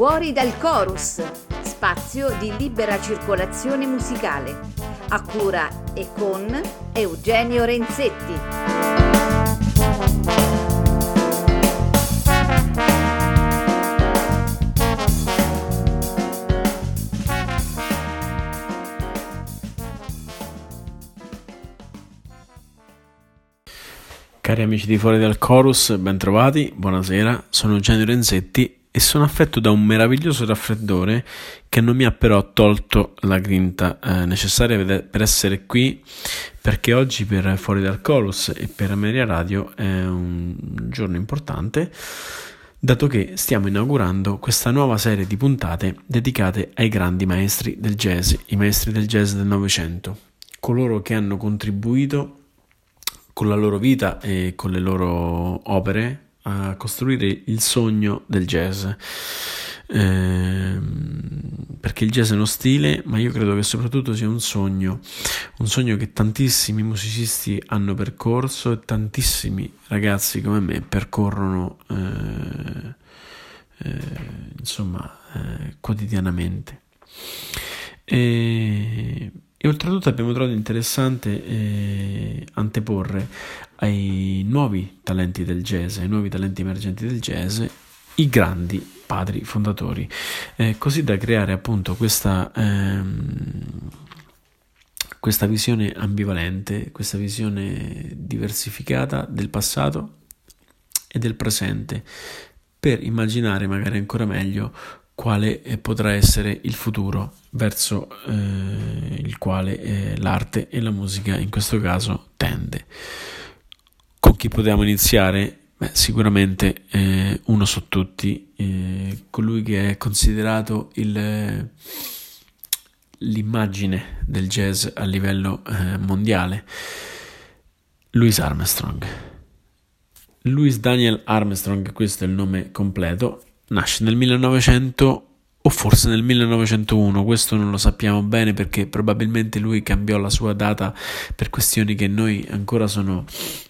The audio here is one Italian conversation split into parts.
Fuori dal Chorus, spazio di libera circolazione musicale, a cura e con Eugenio Renzetti. Cari amici di Fuori dal Chorus, bentrovati, buonasera, sono Eugenio Renzetti e sono affetto da un meraviglioso raffreddore che non mi ha però tolto la grinta necessaria per essere qui, perché oggi per Fuori dal Chorus e per Ameria Radio è un giorno importante, dato che stiamo inaugurando questa nuova serie di puntate dedicate ai grandi maestri del jazz, i maestri del jazz del Novecento, coloro che hanno contribuito con la loro vita e con le loro opere a costruire il sogno del jazz, perché il jazz è uno stile, ma io credo che soprattutto sia un sogno che tantissimi musicisti hanno percorso e tantissimi ragazzi come me percorrono quotidianamente. E oltretutto abbiamo trovato interessante anteporre ai nuovi talenti del jazz, ai nuovi talenti emergenti del jazz, i grandi padri fondatori, così da creare appunto questa visione ambivalente, questa visione diversificata del passato e del presente, per immaginare magari ancora meglio quale potrà essere il futuro verso il quale l'arte e la musica in questo caso tende. Con chi potevamo iniziare? Sicuramente uno su tutti, colui che è considerato l'immagine del jazz a livello mondiale, Louis Armstrong. Louis Daniel Armstrong, questo è il nome completo. Nasce nel 1900 o forse nel 1901, questo non lo sappiamo bene perché probabilmente lui cambiò la sua data per questioni che noi ancora sono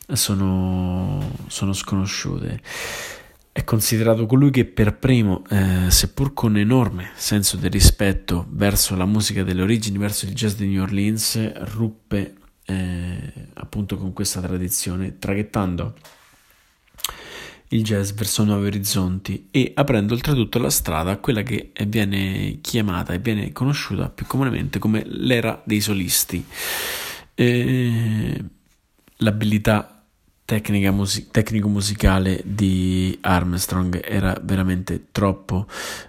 sconosciute. È considerato colui che per primo, seppur con enorme senso del rispetto verso la musica delle origini, verso il jazz di New Orleans, ruppe appunto con questa tradizione, traghettando il jazz verso nuovi orizzonti e aprendo oltretutto la strada a quella che viene chiamata e viene conosciuta più comunemente come l'era dei solisti. L'abilità tecnico-musicale di Armstrong era veramente troppo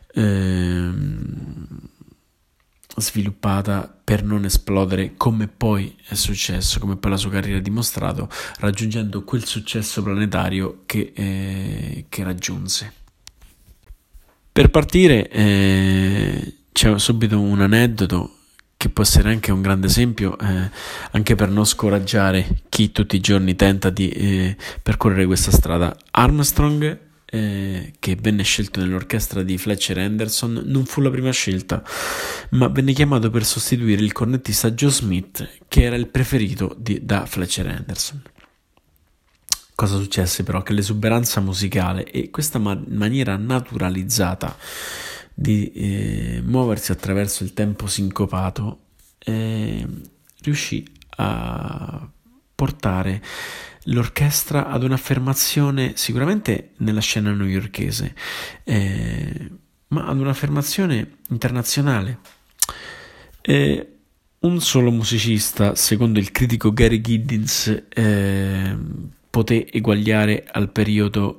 sviluppata per non esplodere, come poi è successo, come poi la sua carriera ha dimostrato, raggiungendo quel successo planetario che raggiunse. Per partire c'è subito un aneddoto che può essere anche un grande esempio, anche per non scoraggiare chi tutti i giorni tenta di percorrere questa strada. Armstrong, che venne scelto nell'orchestra di Fletcher Henderson, non fu la prima scelta, ma venne chiamato per sostituire il cornettista Joe Smith, che era il preferito da Fletcher Henderson. Cosa successe però? Che l'esuberanza musicale e questa maniera naturalizzata di muoversi attraverso il tempo sincopato riuscì a portare l'orchestra ad un'affermazione sicuramente nella scena newyorkese, ma ad un'affermazione internazionale. Un solo musicista, secondo il critico Gary Giddins, poté eguagliare al periodo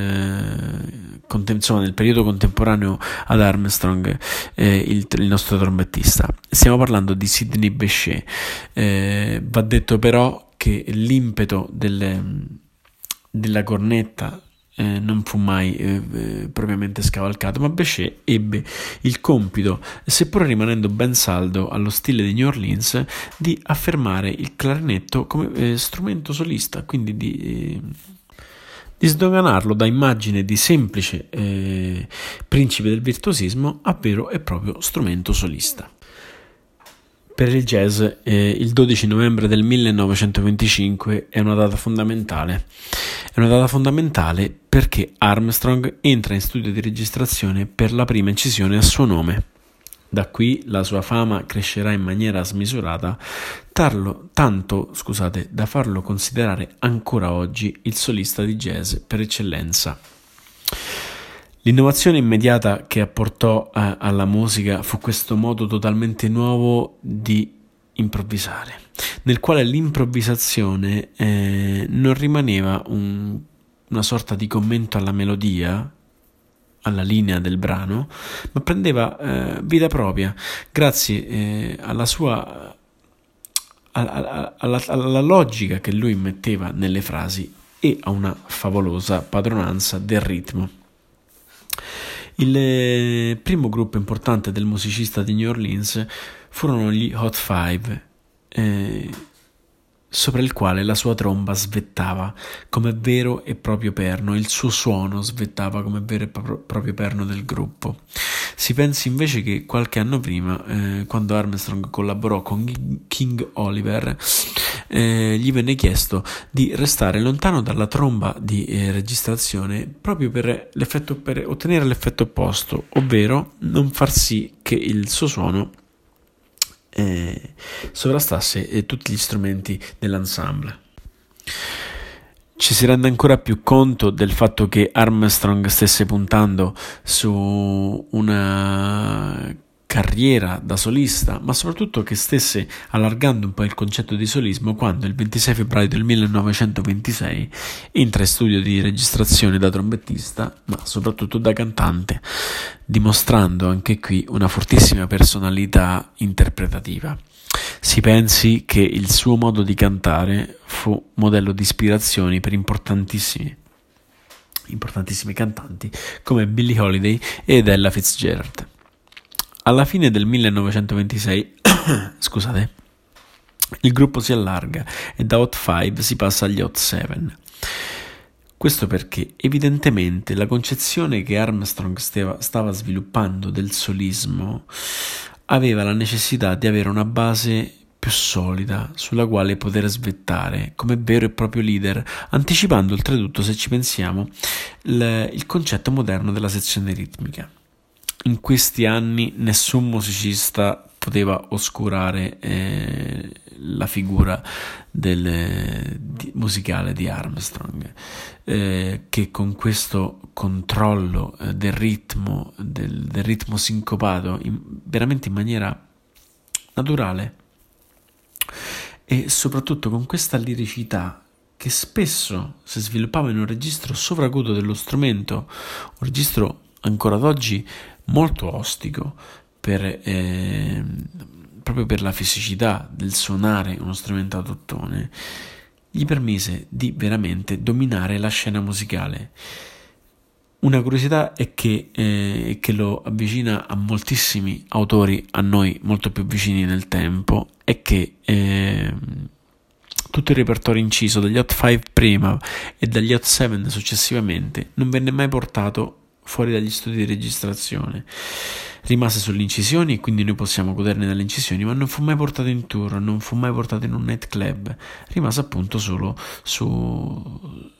nel periodo contemporaneo ad Armstrong il nostro trombettista. Stiamo parlando di Sidney Bechet. Va detto però che l'impeto della cornetta non fu mai propriamente scavalcato, ma Bechet ebbe il compito, seppur rimanendo ben saldo allo stile di New Orleans, di affermare il clarinetto come strumento solista, quindi di sdoganarlo da immagine di semplice principe del virtuosismo a vero e proprio strumento solista. Per il jazz il 12 novembre del 1925 è una data fondamentale. È una data fondamentale perché Armstrong entra in studio di registrazione per la prima incisione a suo nome. Da qui la sua fama crescerà in maniera smisurata, tanto da farlo considerare ancora oggi il solista di jazz per eccellenza. L'innovazione immediata che apportò alla musica fu questo modo totalmente nuovo di improvvisare, nel quale l'improvvisazione non rimaneva una sorta di commento alla melodia, alla linea del brano, ma prendeva vita propria grazie alla sua alla logica che lui metteva nelle frasi e a una favolosa padronanza del ritmo. Il primo gruppo importante del musicista di New Orleans furono gli Hot Five, sopra il quale la sua tromba svettava come vero e proprio perno, il suo suono svettava come vero e proprio perno del gruppo. Si pensi invece che qualche anno prima, quando Armstrong collaborò con King Oliver, gli venne chiesto di restare lontano dalla tromba di registrazione proprio per ottenere l'effetto opposto, ovvero non far sì che il suo suono sovrastasse tutti gli strumenti dell'ensemble. Ci si rende ancora più conto del fatto che Armstrong stesse puntando su una carriera da solista, ma soprattutto che stesse allargando un po' il concetto di solismo quando il 26 febbraio del 1926 entra in studio di registrazione da trombettista, ma soprattutto da cantante, dimostrando anche qui una fortissima personalità interpretativa. Si pensi che il suo modo di cantare fu modello di ispirazione per importantissimi cantanti come Billie Holiday ed Ella Fitzgerald. Alla fine del 1926, il gruppo si allarga e da Hot 5 si passa agli Hot 7. Questo perché evidentemente la concezione che Armstrong stava sviluppando del solismo aveva la necessità di avere una base più solida sulla quale poter svettare come vero e proprio leader, anticipando oltretutto, se ci pensiamo, il concetto moderno della sezione ritmica. In questi anni nessun musicista poteva oscurare la figura musicale di Armstrong, che con questo controllo del ritmo sincopato veramente in maniera naturale e soprattutto con questa liricità che spesso si sviluppava in un registro sovracuto dello strumento, un registro ancora ad oggi molto ostico proprio per la fisicità del suonare uno strumento ad ottone, gli permise di veramente dominare la scena musicale. Una curiosità è che lo avvicina a moltissimi autori a noi molto più vicini nel tempo, è che tutto il repertorio inciso dagli Hot 5 prima e dagli Hot 7 successivamente non venne mai portato fuori dagli studi di registrazione. Rimase sulle incisioni e quindi noi possiamo goderne dalle incisioni, ma non fu mai portato in tour, non fu mai portato in un nightclub, rimase appunto solo su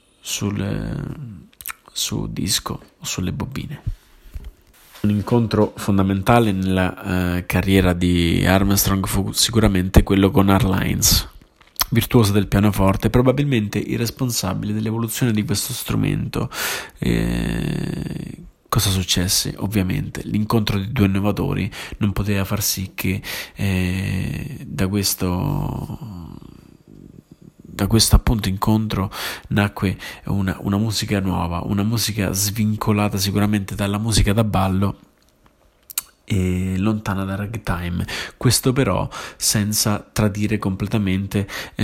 disco o sulle bobine. Un incontro fondamentale nella carriera di Armstrong fu sicuramente quello con Earl Hines, virtuoso del pianoforte, probabilmente il responsabile dell'evoluzione di questo strumento. Cosa successe? Ovviamente l'incontro di due innovatori non poteva far sì che da questo appunto incontro nacque una musica nuova, una musica svincolata sicuramente dalla musica da ballo e lontana da ragtime, questo però senza tradire completamente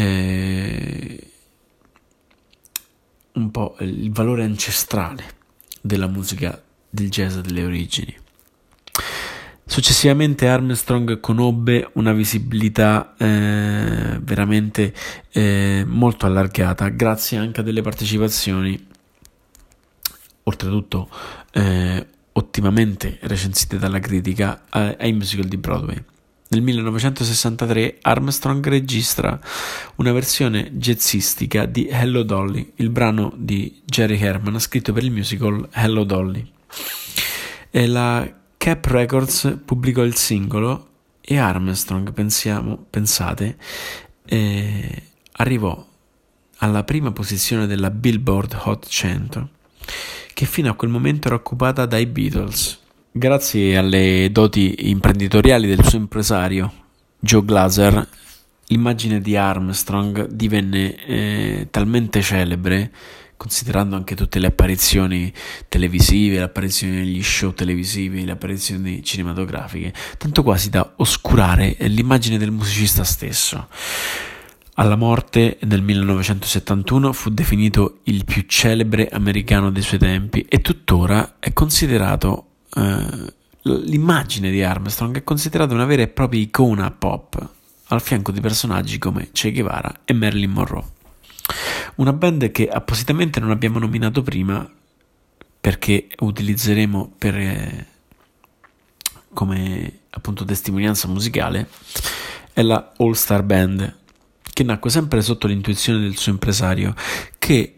un po' il valore ancestrale della musica del jazz delle origini. Successivamente Armstrong conobbe una visibilità veramente molto allargata grazie anche a delle partecipazioni oltretutto ottimamente recensite dalla critica ai musical di Broadway. Nel 1963 Armstrong registra una versione jazzistica di Hello Dolly, il brano di Jerry Herman scritto per il musical Hello Dolly. E la Cap Records pubblicò il singolo e Armstrong, pensate, arrivò alla prima posizione della Billboard Hot 100, che fino a quel momento era occupata dai Beatles. Grazie alle doti imprenditoriali del suo impresario, Joe Glaser, l'immagine di Armstrong divenne talmente celebre, considerando anche tutte le apparizioni televisive, le apparizioni negli show televisivi, le apparizioni cinematografiche, tanto quasi da oscurare l'immagine del musicista stesso. Alla morte nel 1971 fu definito il più celebre americano dei suoi tempi e tuttora è considerato l'immagine di Armstrong è considerata una vera e propria icona pop, al fianco di personaggi come Che Guevara e Marilyn Monroe. Una band che appositamente non abbiamo nominato prima perché utilizzeremo come appunto testimonianza musicale è la All Star Band, che nacque sempre sotto l'intuizione del suo impresario, che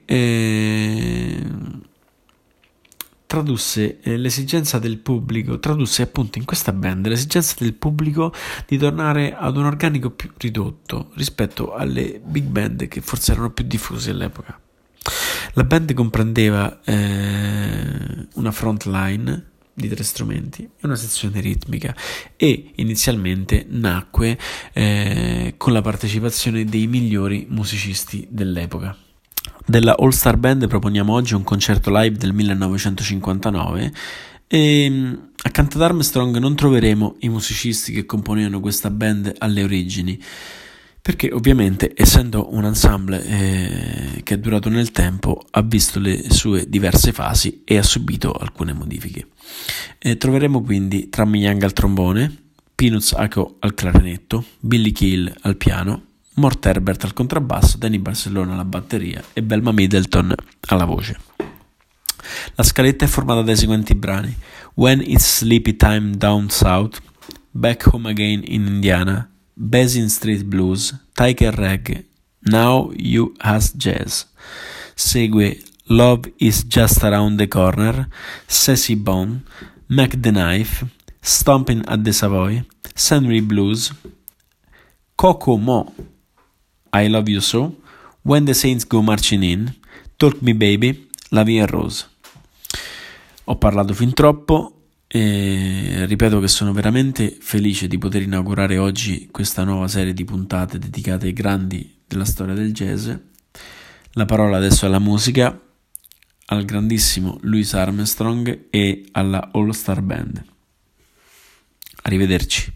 tradusse appunto in questa band l'esigenza del pubblico di tornare ad un organico più ridotto rispetto alle big band che forse erano più diffuse all'epoca. La band comprendeva una front line di 3 strumenti e una sezione ritmica e inizialmente nacque con la partecipazione dei migliori musicisti dell'epoca. Della All Star Band proponiamo oggi un concerto live del 1959 e accanto ad Armstrong non troveremo i musicisti che componevano questa band alle origini, perché ovviamente essendo un ensemble che è durato nel tempo ha visto le sue diverse fasi e ha subito alcune modifiche. Troveremo quindi Trammy Young al trombone, Peanuts Aco al clarinetto, Billy Kiel al piano, Mort Herbert al contrabbasso, Danny Barcellona alla batteria e Belma Middleton alla voce. La scaletta è formata dai seguenti brani: When It's Sleepy Time Down South, Back Home Again in Indiana, Basin Street Blues, Tiger Rag, Now You Has Jazz. Segue Love Is Just Around the Corner, Sassy Bone, Mac the Knife, Stomping at the Savoy, Scenery Blues, Coco Mo, I Love You So, When the Saints Go Marching In, Talk Me Baby, La Vie Rose. Ho parlato fin troppo e ripeto che sono veramente felice di poter inaugurare oggi questa nuova serie di puntate dedicate ai grandi della storia del jazz. La parola adesso alla musica, al grandissimo Louis Armstrong e alla All Star Band. Arrivederci.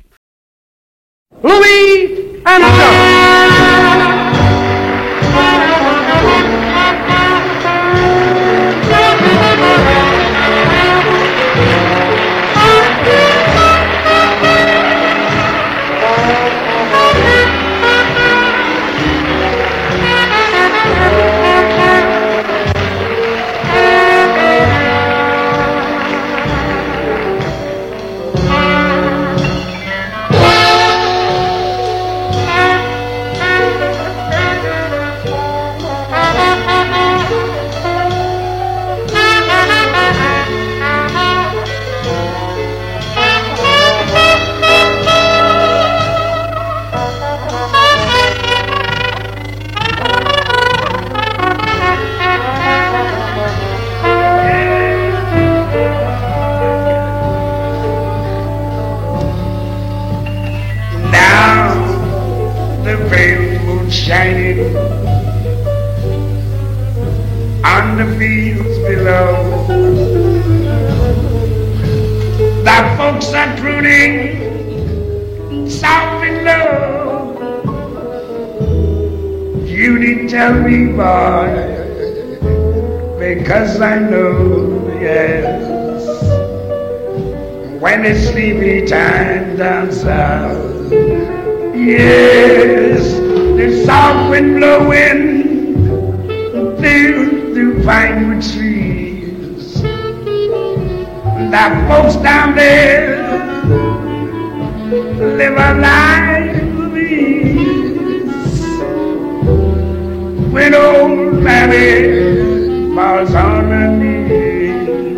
Louis Armstrong. Shining on the fields below. The folks are crooning soft and low. You need tell me, boy, because I know, yes, when it's sleepy time down south, yes, the south wind blowing through pinewood trees. The folks down there live a life of ease. When old mammy falls on her knees,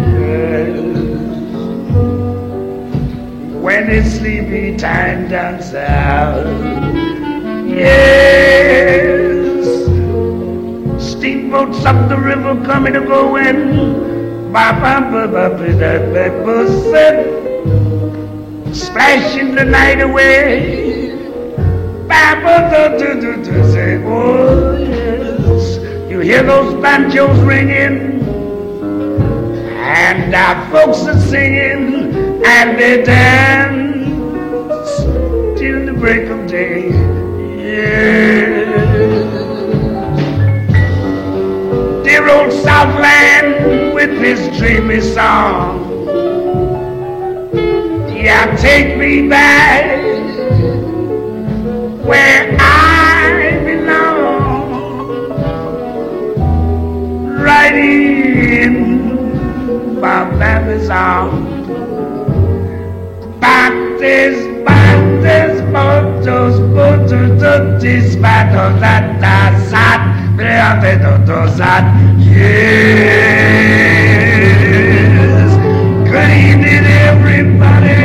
when it's sleepy time down south, yes, steamboats up the river coming and going. Splashing the night away. Say, oh yes, you hear those banjos ringing, and our folks are singing, and they dance till the break of day. Yeah. Dear old Southland with his dreamy song, yeah, take me back where I belong, right in my baby's arms. Bates, motos, motos, patos, that, yes. Good evening, everybody.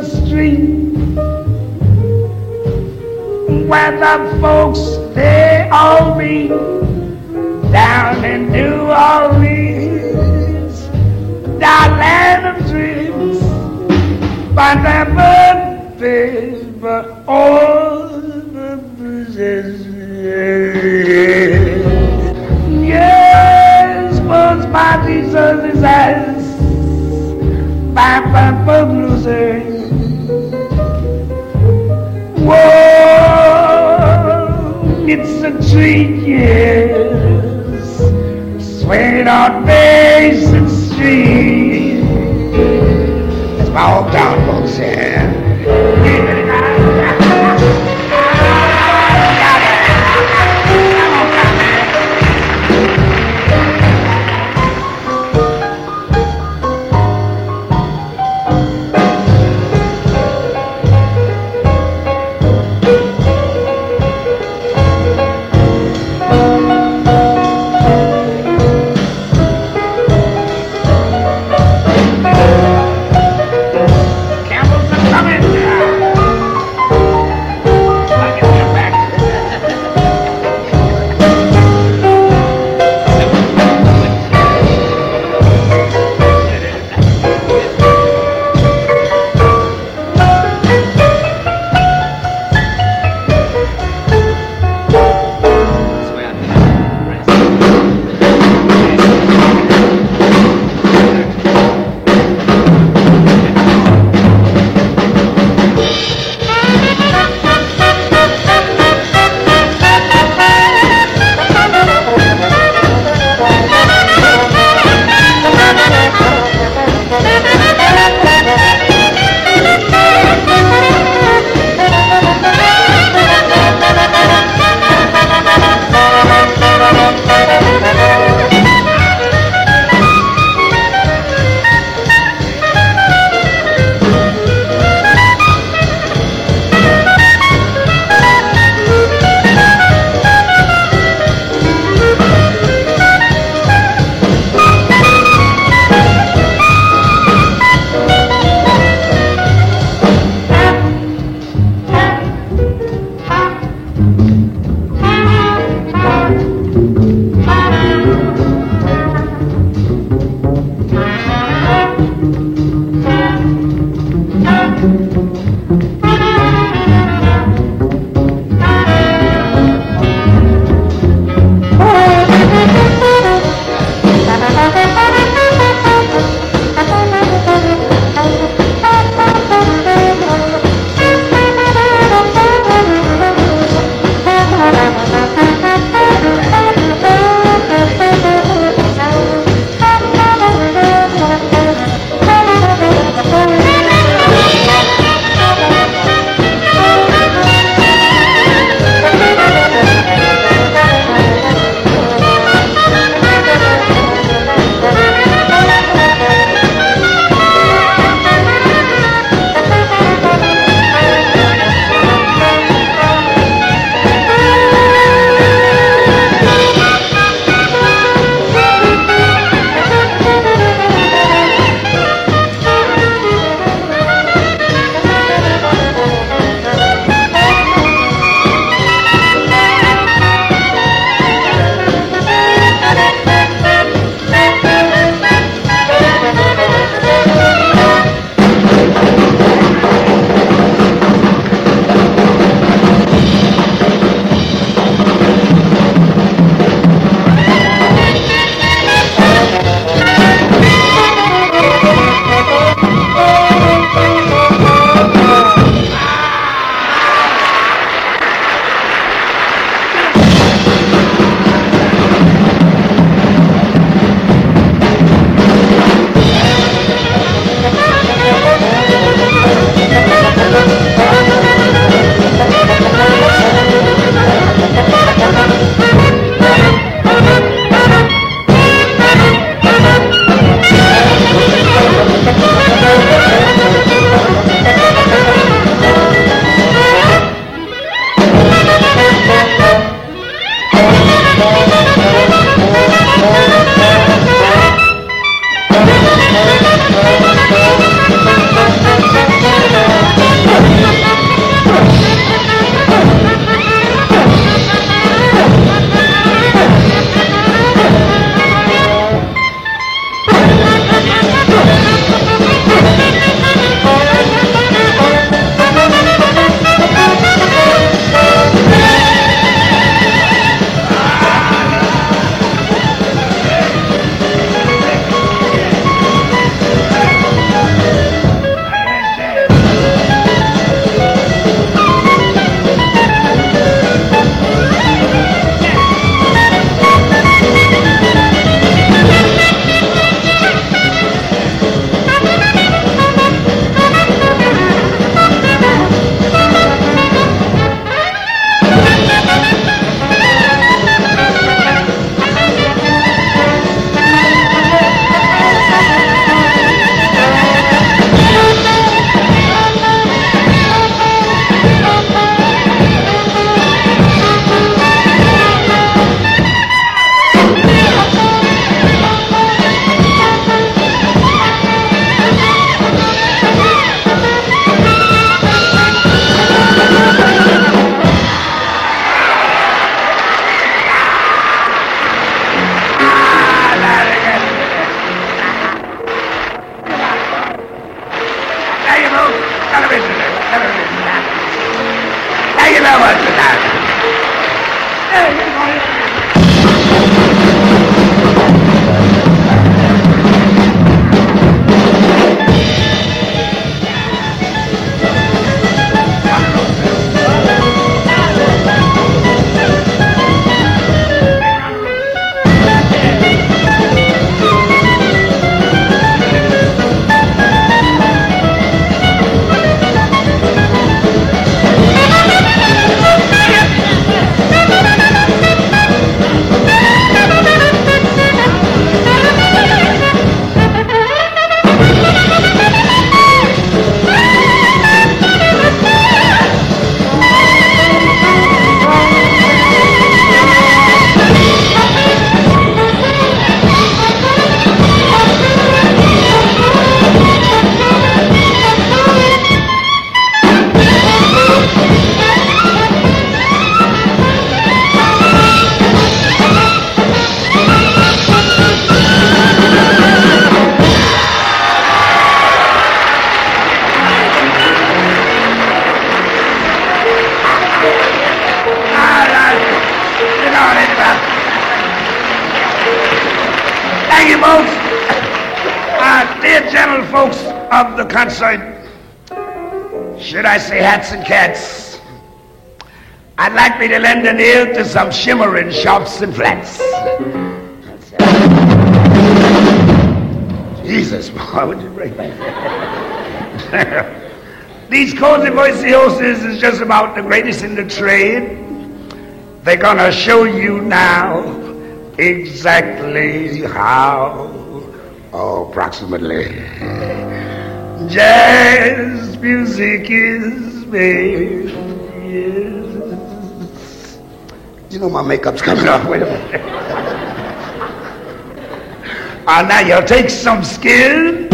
street where the folks they all meet down in New Orleans, that land of dreams, by their birthdays, but all the bridges. Yes, was by these early eyes, by bluesing. Whoa, it's a treat, yes, swinging on Mason Street. That's my hometown, folks, yeah. Dear gentle folks of the concert, should I say hats and cats, I'd like me to lend an ear to some shimmering sharps and flats. Jesus, boy, would you break my These cozy voiciosos is just about the greatest in the trade. They're gonna show you now exactly how, approximately, jazz music is made. Yes. You know my makeup's coming off. Wait a minute. Now you'll take some skill.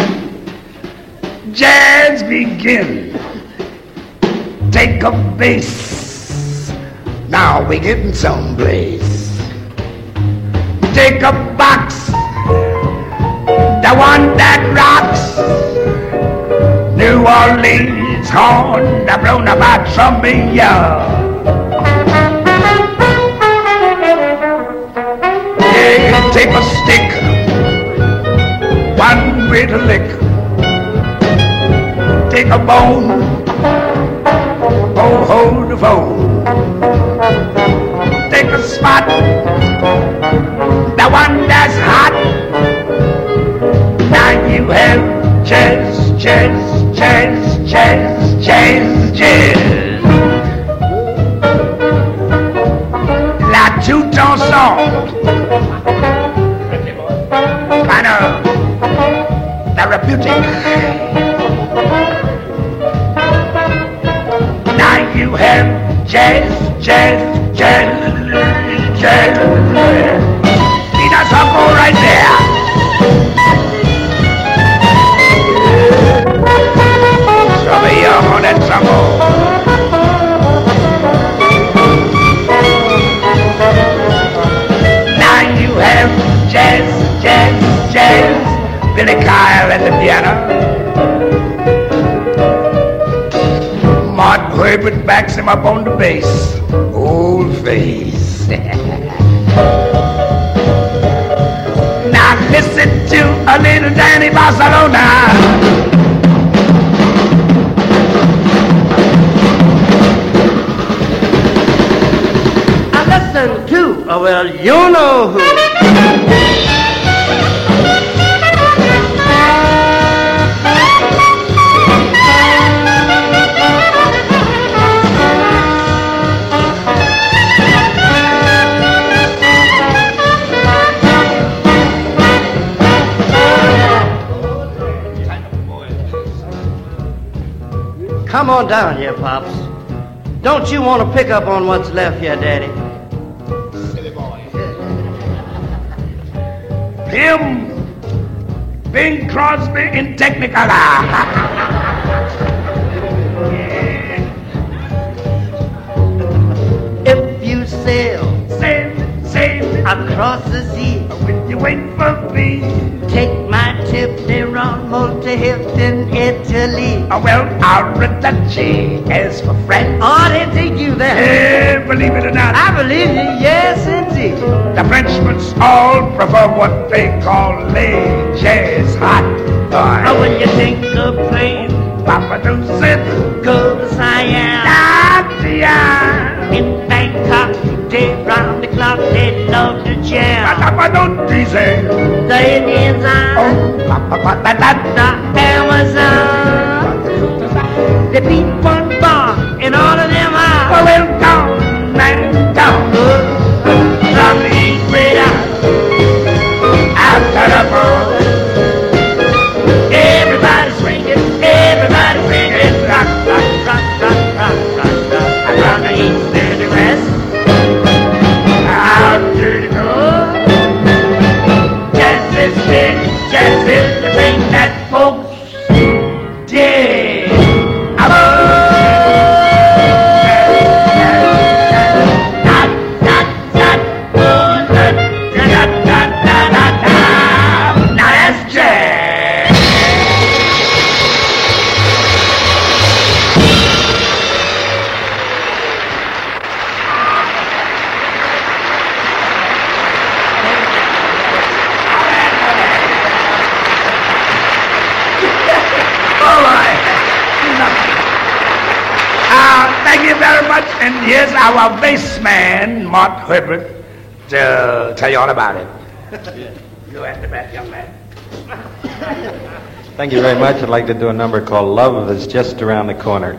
Jazz begin. Take a bass. Now we're getting someplace. Take a box, the one that rocks. New Orleans horn, the blown about trumpet, yeah. Take a stick, one with a lick. Take a bone, hold the phone. Take a spot, the one that's hot. Now you have jazz, jazz, jazz, jazz, jazz, jazz. La two-tone song, kind of therapeutic. Now you have jazz, jazz, jazz, jazz. See that circle right there? Some of you on that circle. Now you have jazz, jazz, jazz. Billy Kyle at the piano. Mart Herbert backs him up on the bass. Old face. Now listen to a little Danny Barcelona. Listen to, well, you know who. Come on down here, Pops. Don't you want to pick up on what's left here, Daddy? Him, Bing Crosby in Technicolor. If you sail across the sea, when you wait for me, take my tip, they run multi-hipped in Italy. Well, Arrivederci as for French. Oh, they take you there. Yeah, believe it or not. I believe you, yes indeed. The Frenchmen all prefer what they call les jazz hot. Oh, when you think of playing Papa do sit, go to Siam, in Bangkok, day round the clock, they love to jam. Papa don't tease it. The Indians on the Amazon, they beat one bar and all of them are well down, man down. From the east way down, After the ball, everybody swinging, rock, rock, rock, rock, rock, rock, rock. And from the east there's the west, out to the go. jazz is big, jazz is the thing that folks dig. Now that's jazz. Thank you very much. And here's our bassman, Mort Herbert, to tell you all about it. Go at the back, young man. Thank you very much. I'd like to do a number called Love is Just Around the Corner.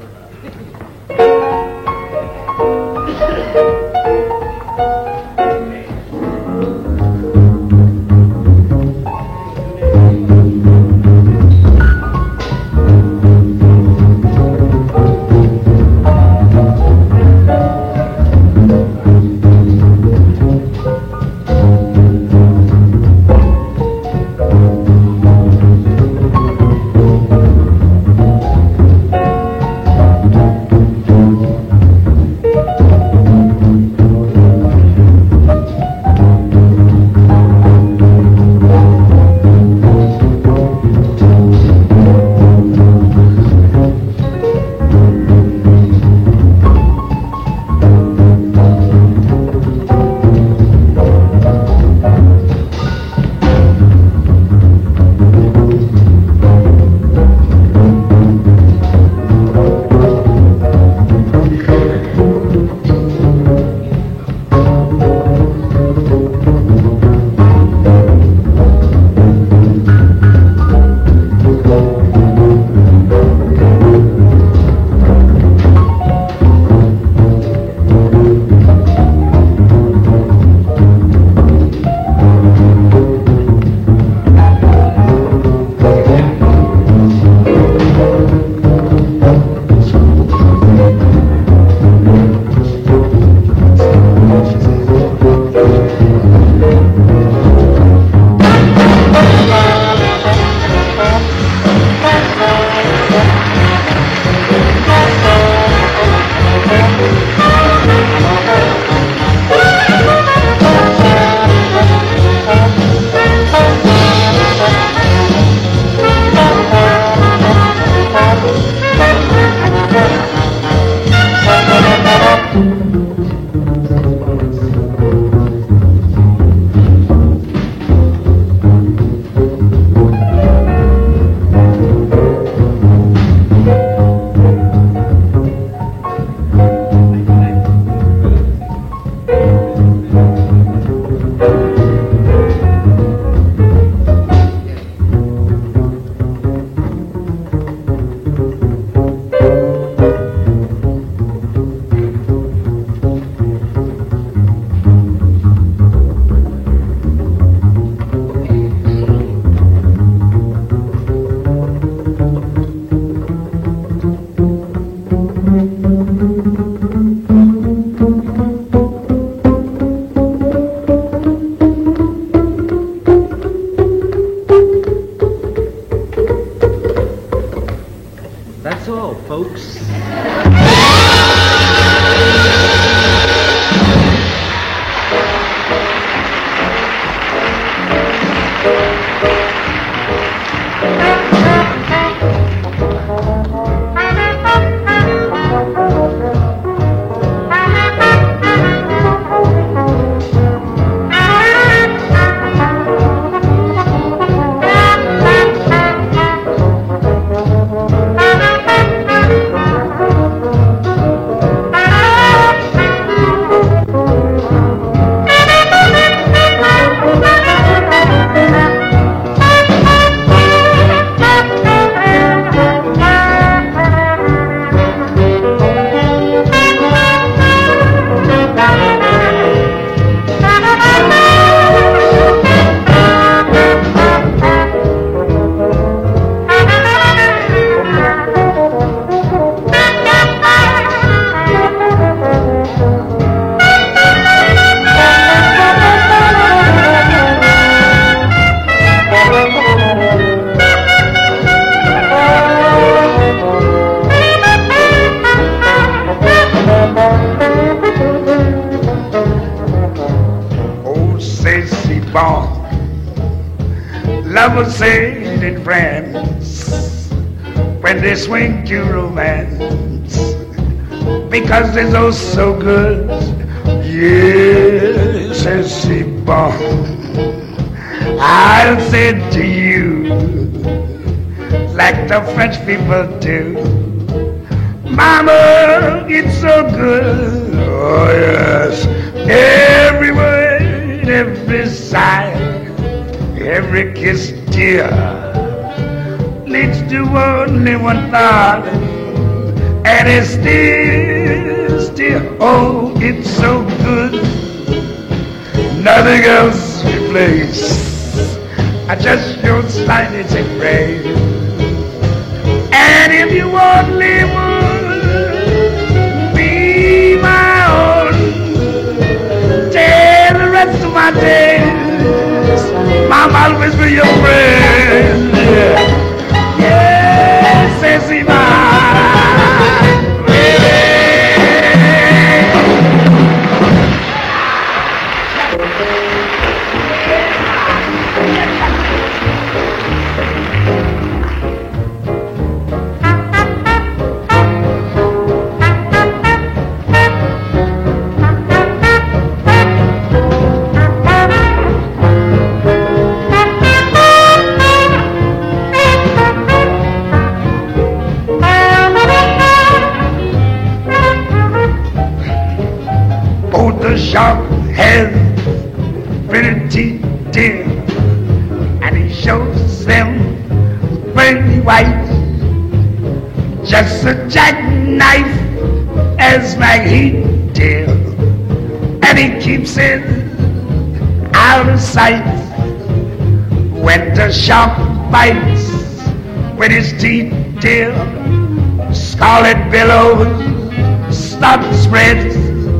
Lovers say in France when they swing to romance because they're oh so good. Yes, c'est bon. I'll say to you like the French people do. Mama, it's so good. Oh, yes. Every word, every sigh, every kiss, dear, leads to only one thought. And it's still, oh, it's so good. Nothing else replaces. I just your slightest embrace. And if you only would be my own, tell the rest of my days, Mama, I'll always be your friend. Yes, yes, the shark has pretty teeth, dear, and he shows them pretty white. Just a jackknife as McHeath, dear, and he keeps it out of sight. When the shark bites with his teeth, dear, scarlet billows start to spread.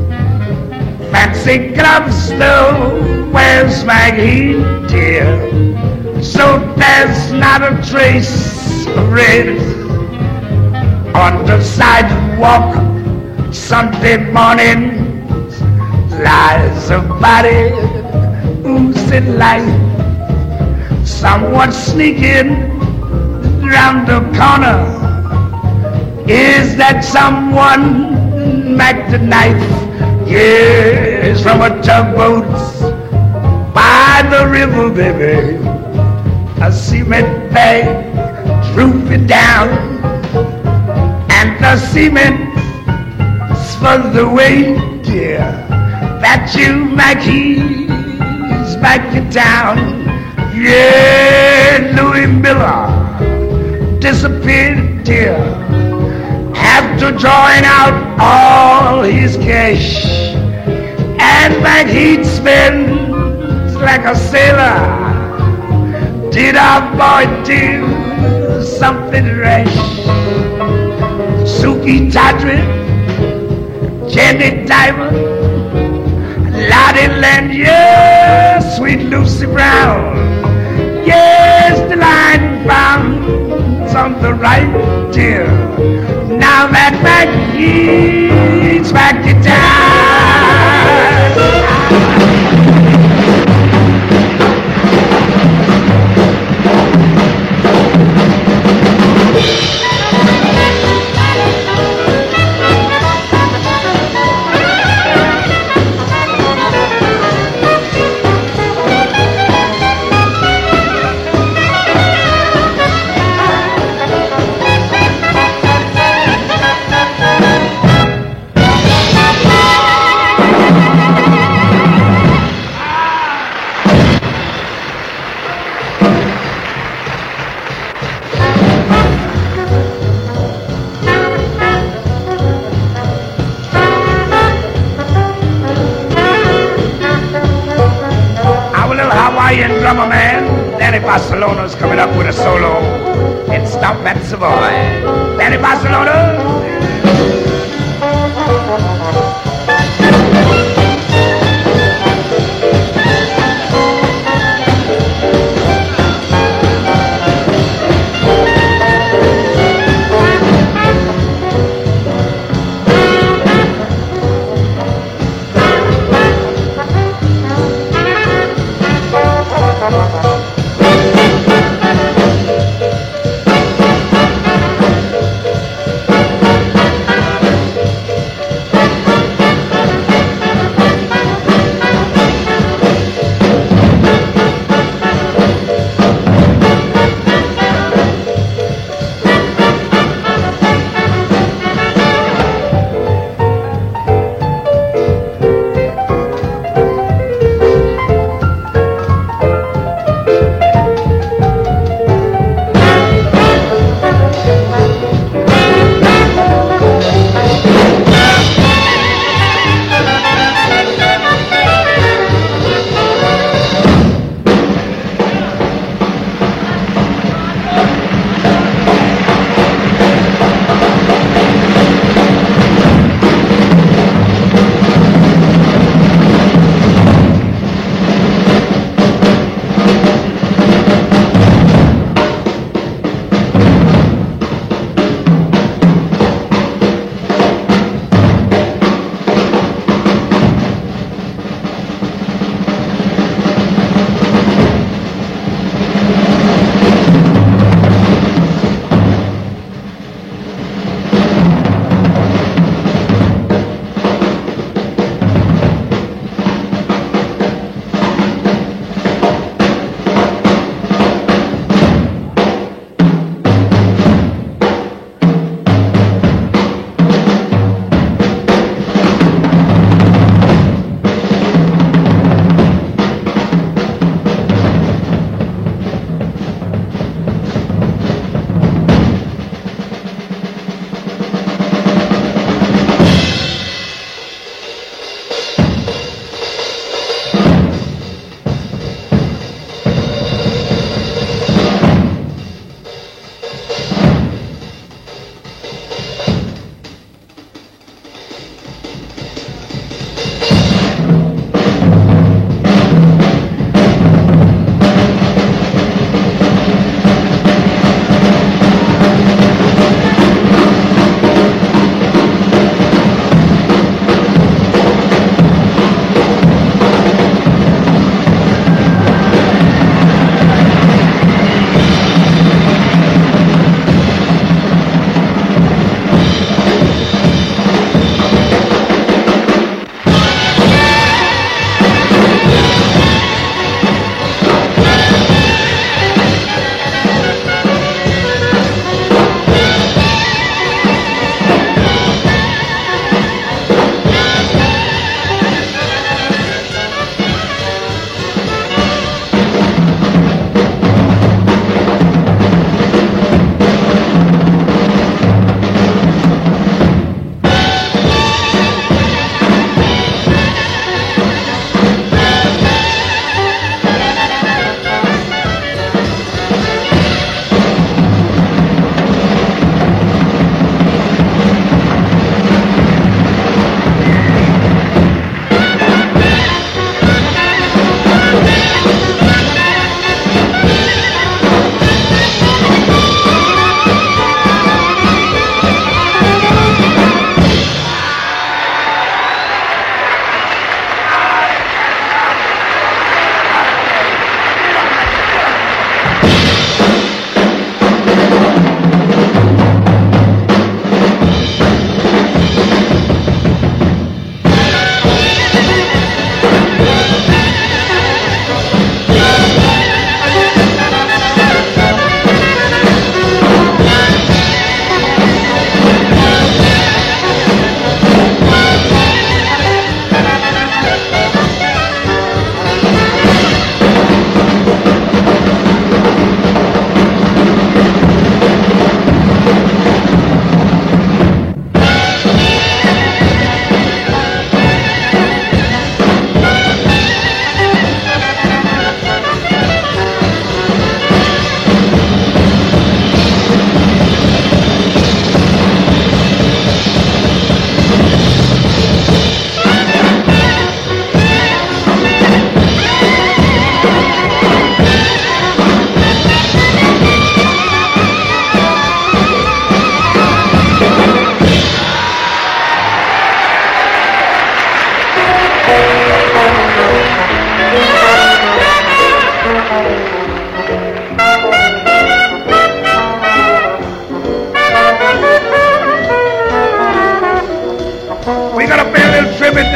Fancy gloves though, where's McHeath, dear? So there's not a trace of red on the sidewalk. Sunday morning lies a body oozing light. Someone sneaking round the corner. Is that someone Mac the knife? Yes, from a tugboat by the river, baby, a cement bag drooping down, and the cement's for the way, dear, that you, McHeath's back in town. Yeah, Louis Miller disappeared, dear, after drawing out all his cash. And McHeath spends like a sailor. Did our boy do something rash? Suki Tawdry, Jenny Diamond, Lottie Lanier, sweet Lucy Brown. Yes, the line bounds on the right, dear. Now that McHeath's back in town. Drummer man, Danny Barcelona's coming up with a solo in Stomp at Savoy. Danny Barcelona.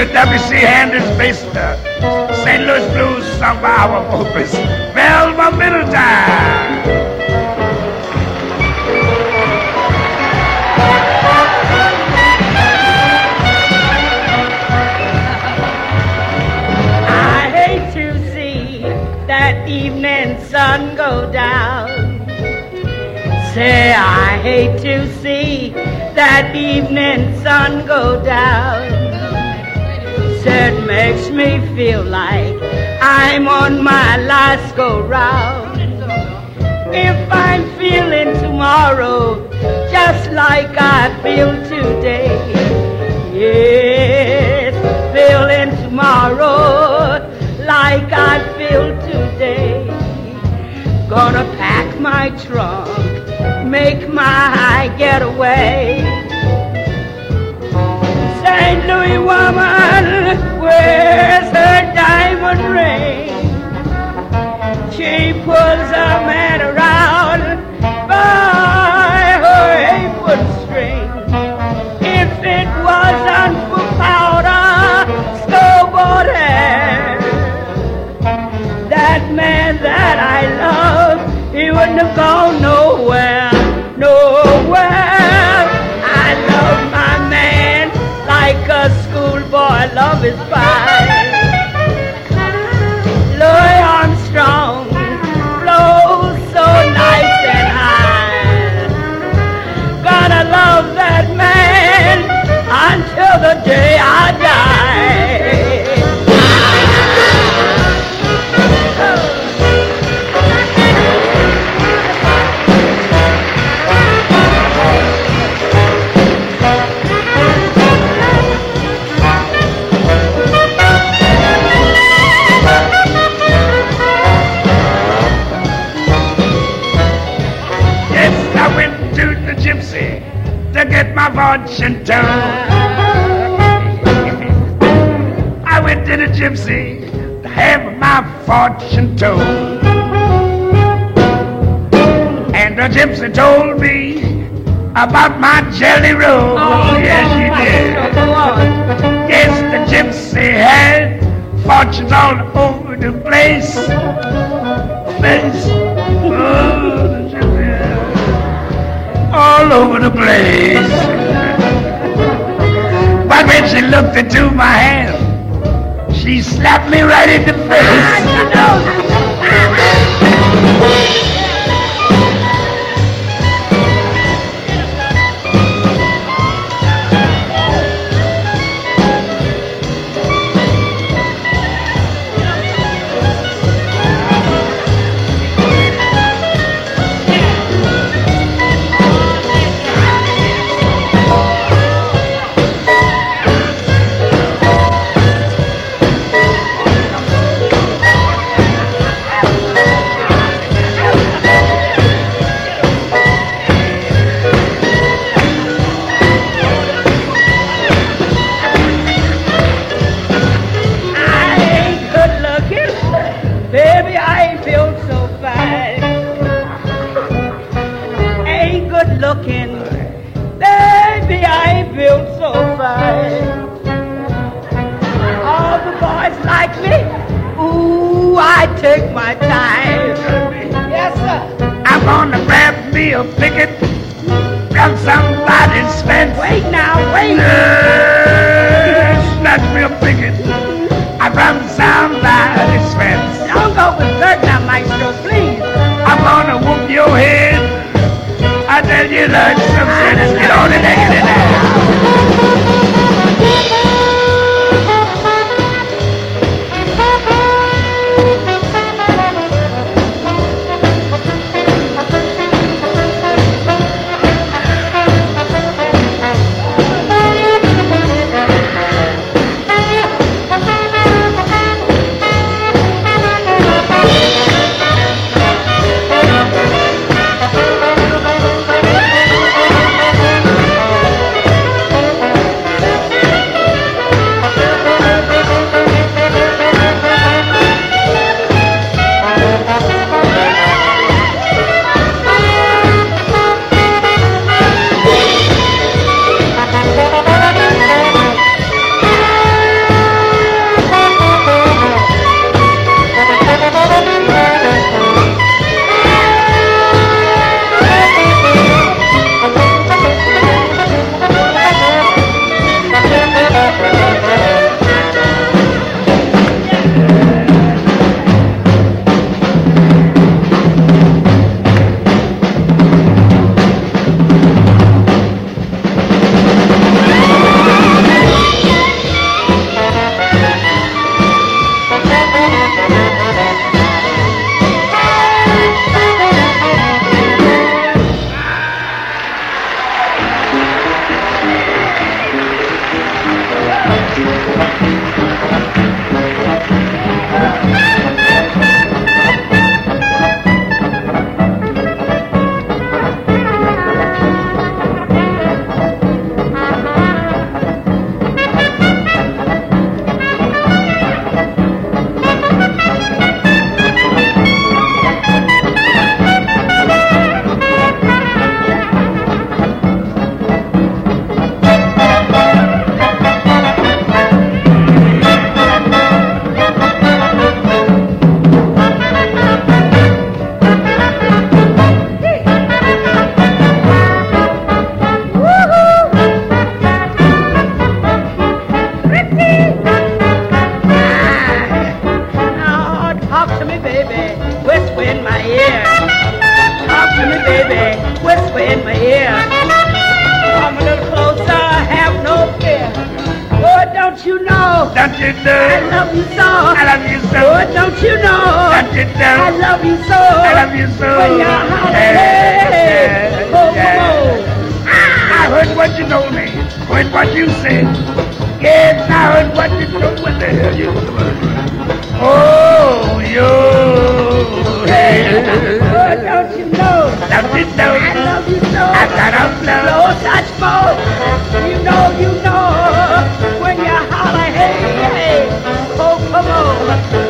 with W.C. Hander's bass, St. Louis Blues sung by our opus, Velma Middletime. That evening sun go down. Say, I hate to see that evening sun go down. Say, it makes me feel like I'm on my last go round. If I'm feeling tomorrow just like I feel today, yes, feeling tomorrow like I feel today. Gonna pack my trunk, make my getaway. St. Louis woman wears her diamond ring. She pulls a man around by her apron string. If it wasn't for powder, snowboard hair, that man that I love, he wouldn't have gone nowhere, nowhere. I love my man like a schoolboy love his pie. Louis Armstrong flows so nice and high. Gonna love that man until the day I die. To get my fortune told. I went to the gypsy to have my fortune told. And the gypsy told me about my jelly roll. Oh, yes, she did. Yes, the gypsy had fortunes all over the place. Oh, the gypsy all over the place. But when she looked into my hand, she slapped me right in the face. Take my time. Yes, sir. I'm gonna grab me a picket from somebody's fence. Wait now, wait. Snatch me a picket from somebody's fence. Don't go berserk now, maestro, please. I'm gonna whoop your head. I tell you, learn some sense. Get on and get in there. whisper in my ear. Come a little closer, have no fear. Oh, don't you know? Don't you know? I love you so. I love you so. Oh, don't you know? Don't you know? I love you so. I love you so. When you're holiday, oh, I heard what you told me, heard what you said. Yes, I heard what you told me. What the hell you doing? Oh, you. Hey. Oh, don't you know? Don't you know? I love you so. I got a flow. No such fault. You know. When you holler, hey, hey. Oh, come on.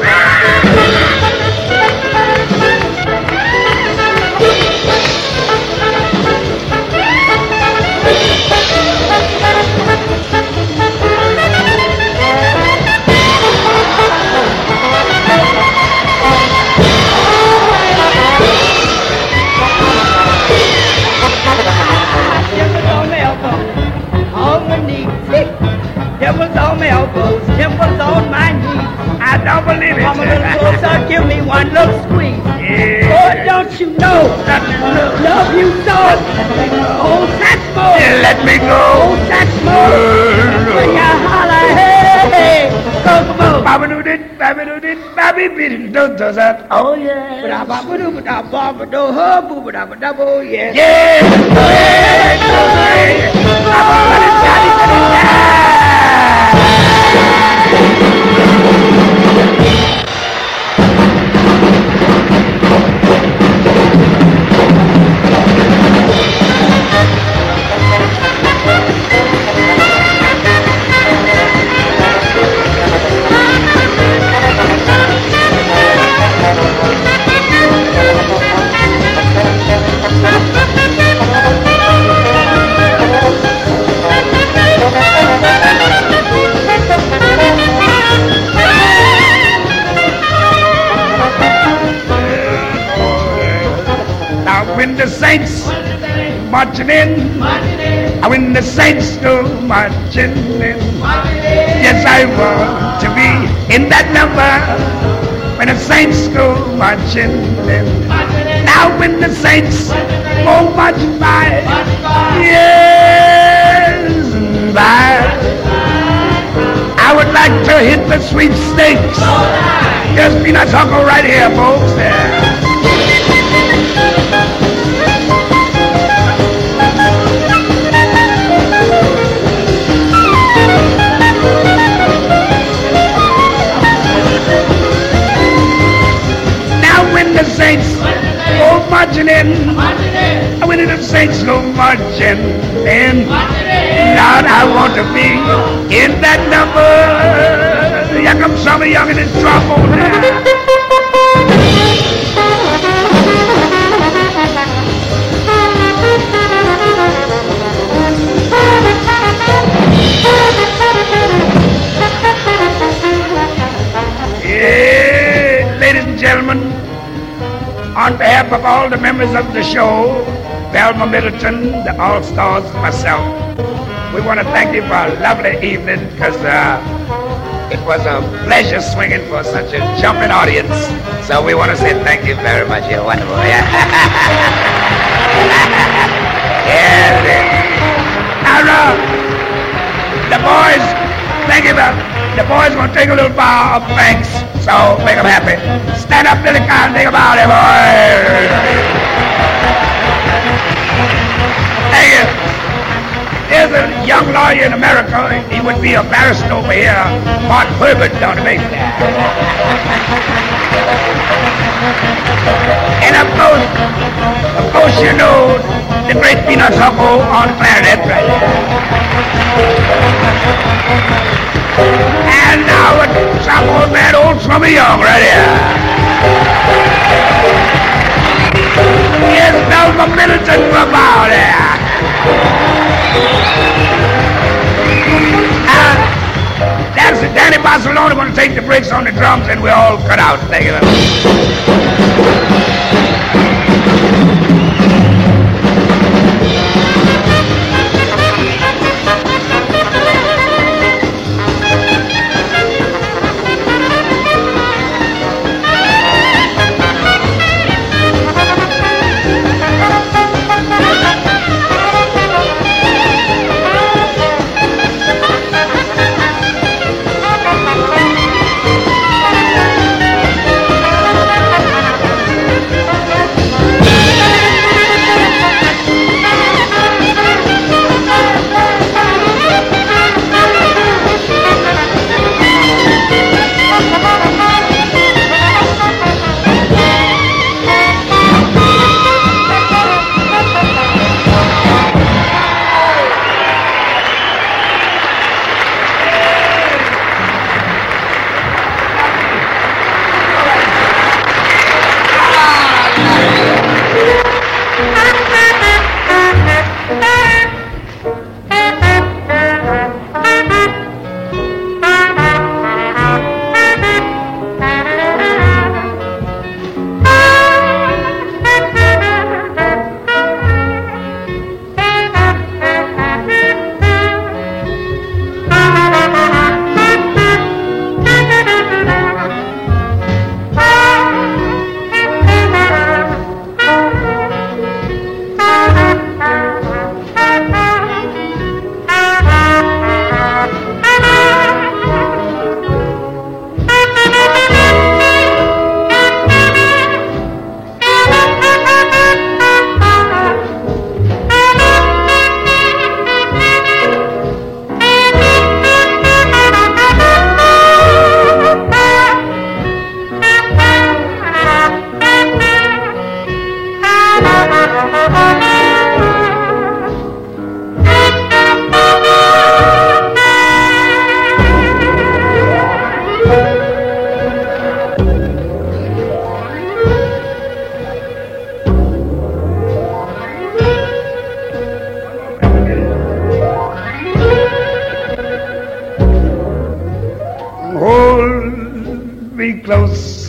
Dimples on my elbows, dimples on my knees. I don't believe it. Come a little closer, give me one little squeeze. Yeah. Oh, don't you know? Love you so. Oh, such more. Yeah, let me go. Oh, such more. When you holler, hey, hey, go, come on. Babadoo-dit, babadoo-dit, babby-biddy, does that. Oh, yeah. Ba-da-ba-ba-doo-ba-da-ba-ba-doo, yes. Yeah. When the saints marching in, when the saints go marching in, yes, I want to be in that number. When the saints go marching in, now when the saints go marching by, yes, by, I would like to hit the sweepstakes. Just Peanuts Uncle right here, folks. Yeah. The saints go marching in. When the saints go marching in, Lord, I want to be in that number. Here comes some of young in his trombone now. Yeah, ladies and gentlemen, on behalf of all the members of the show, Velma Middleton, the All-Stars, myself, we want to thank you for a lovely evening because it was a pleasure swinging for such a jumping audience. So we want to say thank you very much. You're wonderful. Yeah. Now, the boys, thank you. The boys going to take a little bow of thanks. So make them happy. Stand up, Billy Kyle, think about it, boys. Thank you. There's a young lawyer in America. He would be a barrister over here. Mark Herbert, don't make that. And of course, you know the great Peanuts Uncle on clarinet right there. And now a trombone man, old Slummy Young, right here. Here's Velma Middleton from out there. That's it. Danny Barcelona going to take the breaks on the drums, and we're all cut out. Thank you very much.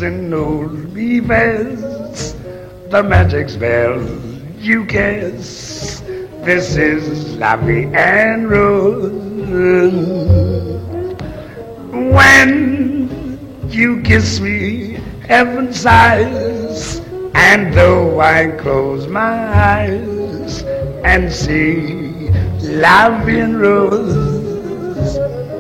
dancing knows me best. The magic spell you cast. This is La Vie en Rose. When you kiss me, heaven sighs, and though I close my eyes and see La Vie en Rose,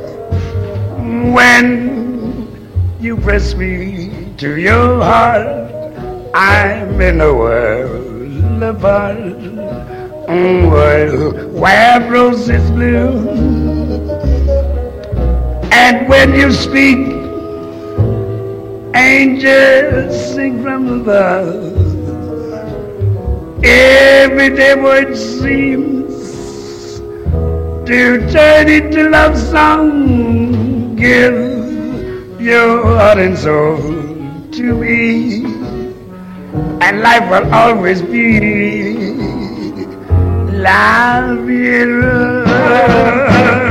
when you press me to your heart, I'm in a world apart, a world where roses bloom. And when you speak, angels sing from above. Every day word seems to turn into love song. Give your heart and soul to me, and life will always be La Vie en Rose.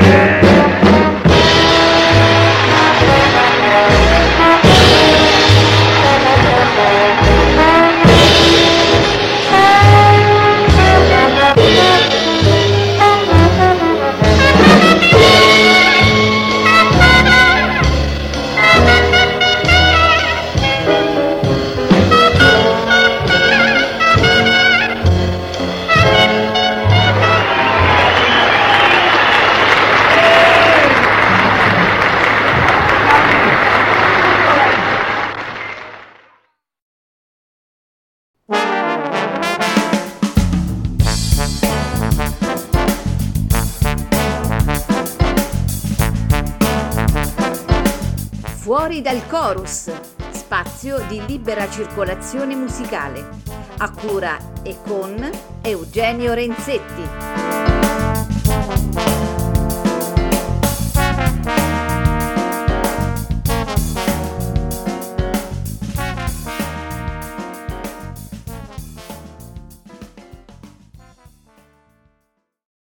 Fuori dal chorus, spazio di libera circolazione musicale, a cura e con Eugenio Renzetti.